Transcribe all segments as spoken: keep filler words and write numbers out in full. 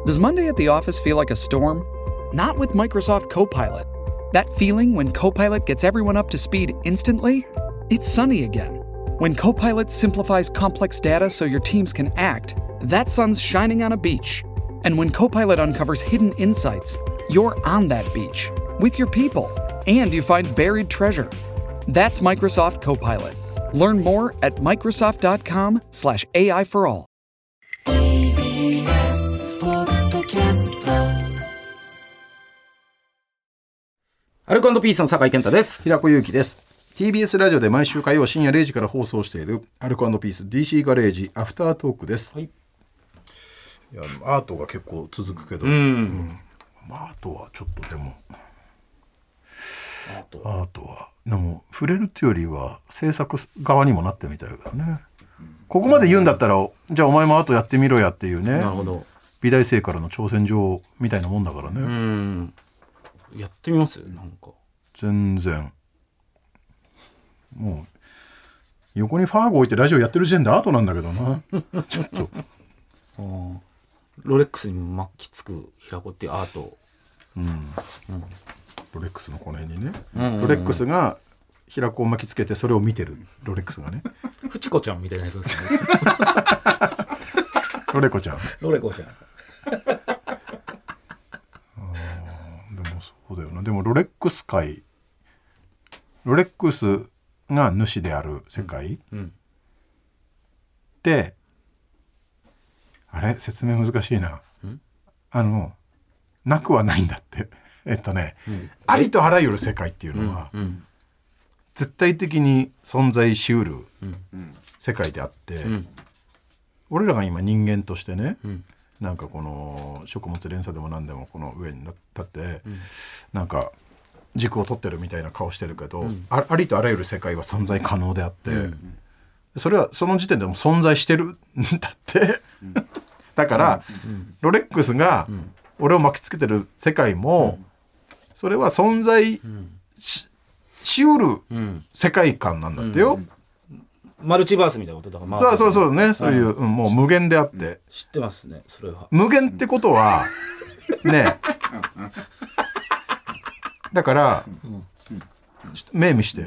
Does Monday at the office feel like a storm? Not with Microsoft Copilot. That feeling when Copilot gets everyone up to speed instantly? It's sunny again. When Copilot simplifies complex data so your teams can act, that sun's shining on a beach. And when Copilot uncovers hidden insights, you're on that beach with your people, and you find buried treasure. That's Microsoft Copilot. Learn more at Microsoft.com slash AI for all. ティービーエス ポッドキャスト。 アルコ&ピースの酒井健太です。 平子祐希です。 ティービーエス ラジオで毎週火曜深夜れいじから放送しているアルコ&ピース ディーシー ガレージアフタートークです、はい、いやアートが結構続くけど、うん、うん、アートはちょっとでもアートアートはでも触れるっていうよりは制作側にもなってみたいからね、うん、ここまで言うんだったら、うん、じゃあお前もアートやってみろやっていうね、なるほど、美大生からの挑戦状みたいなもんだからね。うん、 やってみます？なんか全然もう横にファーゴ置いてラジオやってる時点でアートなんだけどなちょっとあロレックスに巻きつく平子っていうアート、うんうん、 ロレックスのこの辺にね、うんうんうん、ロレックスが平子を巻きつけてそれを見てるロレックスがねフチコちゃんみたいなやつですねロレコちゃんロレコちゃんあでもそうだよな。でもロレックス界ロレックスが主である世界、うんうん、であれ説明難しいな、あのなくはないんだってえっとね、うん、ありとあらゆる世界っていうのは、うんうん、絶対的に存在しうる世界であって、うん、俺らが今人間としてね、うん、なんかこの食物連鎖でも何でもこの上に立って、うん、なんか軸を取ってるみたいな顔してるけど、うん、あ, ありとあらゆる世界は存在可能であって、うん、それはその時点でも存在してるんだって、うん、だから、うん、ロレックスが俺を巻きつけてる世界も、うん、それは存在 し, しうる世界観なんだってよ、うんうん、マルチバースみたいなことだから、 そうそうそうね、そういう、うん、もう無限であって、うん、 知ってますねそれは。 無限ってことはねだから、うん、ちょっと目見して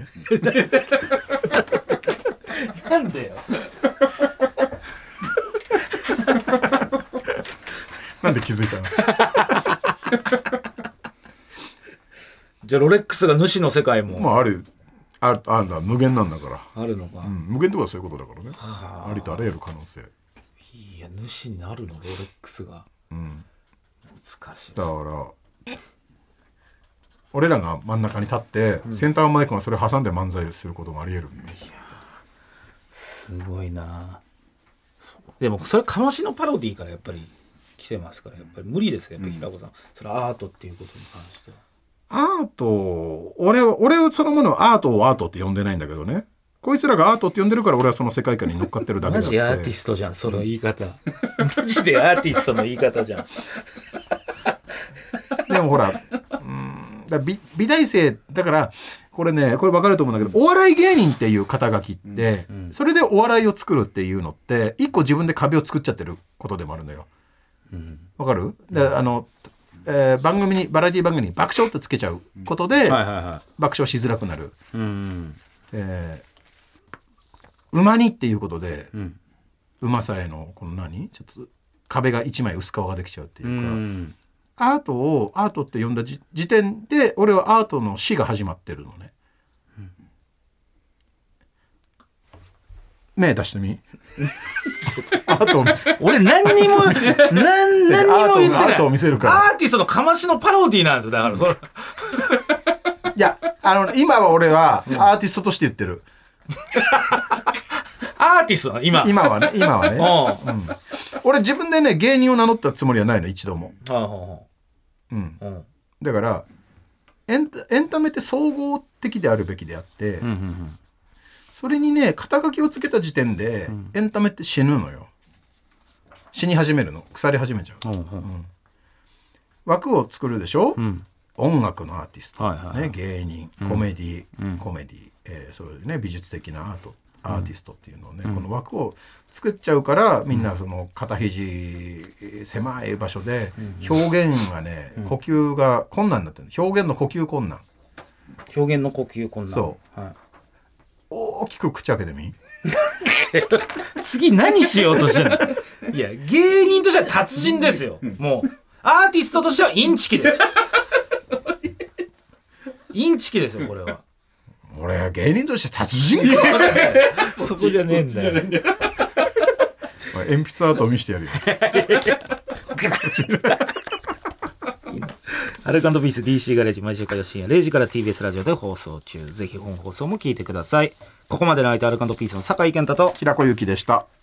なんでよなんで気づいたのじゃあロレックスが主の世界も、 まあ、あるあるあるんだ無限なんだからあるのか、 うん、無限ってことはそういうことだからね。 あ, ありとあらゆる可能性。 いや主になるのロレックスが、うん、難しいだから俺らが真ん中に立って、うん、センターマイクがそれを挟んで漫才することもあり得る、ね、いやすごいな。でもそれかましのパロディーからやっぱり来てますからやっぱり無理ですよやっぱり平子さん、うん、それアートっていうことに関しては。 アート俺は俺そのものはアートをアートって呼んでないんだけどね、こいつらがアートって呼んでるから俺はその世界観に乗っかってるだけだって。 マジアーティストじゃんその言い方マジでアーティストの言い方じゃんでもほら、うんだ 美, 美大生だからこれねこれ分かると思うんだけど、お笑い芸人っていう肩書きって、うんうん、それでお笑いを作るっていうのって一個自分で壁を作っちゃってることでもあるのよ。分かる？で、あの、えー、番組にバラエティ番組に爆笑ってつけちゃうことで、うんはいはいはい、爆笑しづらくなる、うんうんえー、馬にっていうことで、うん、うまさへのこの何ちょっと壁が一枚薄皮ができちゃうっていうか、うんアートをアートって呼んだ時点で俺はアートの死が始まってるのね、うん、目出してみアートを見せ俺何にも何, 何にも言ってない。 アートを見せるからアーティストのかましのパロディなんですよだからそれいやあの今は俺はアーティストとして言ってる、うん、 アーティスト今今はね今はね、うん、俺自分でね芸人を名乗ったつもりはないの一度も、うん、うん、だからエ ン, エンタメって総合的であるべきであって、うんうんうん、それにね肩書きをつけた時点で、うん、エンタメって死ぬのよ。死に始めるの腐り始めちゃう、うんうんうん、枠を作るでしょ、うん、音楽のアーティスト、はいはいはいね、芸人コメディ、うん、コメディ、えー、そういうね美術的なアートアーティストっていうのをね、うん、この枠を作っちゃうからみんなその肩肘狭い場所で表現がね、うん、呼吸が困難になってる。表現の呼吸困難表現の呼吸困難そう、はい、大きく口開けてみ次何しようとしてるのいや芸人としては達人ですよ、うん、もうアーティストとしてはインチキですインチキですよこれは。 俺芸人として達人かそこじゃねえんだよ鉛筆アートを見せてやるよアルカンドピース ディーシー ガレージ毎週火曜深夜れいじから ティービーエス ラジオで放送中。ぜひ本放送も聞いてください。ここまでの相手アルカンドピースの酒井健太と平子ゆきでした。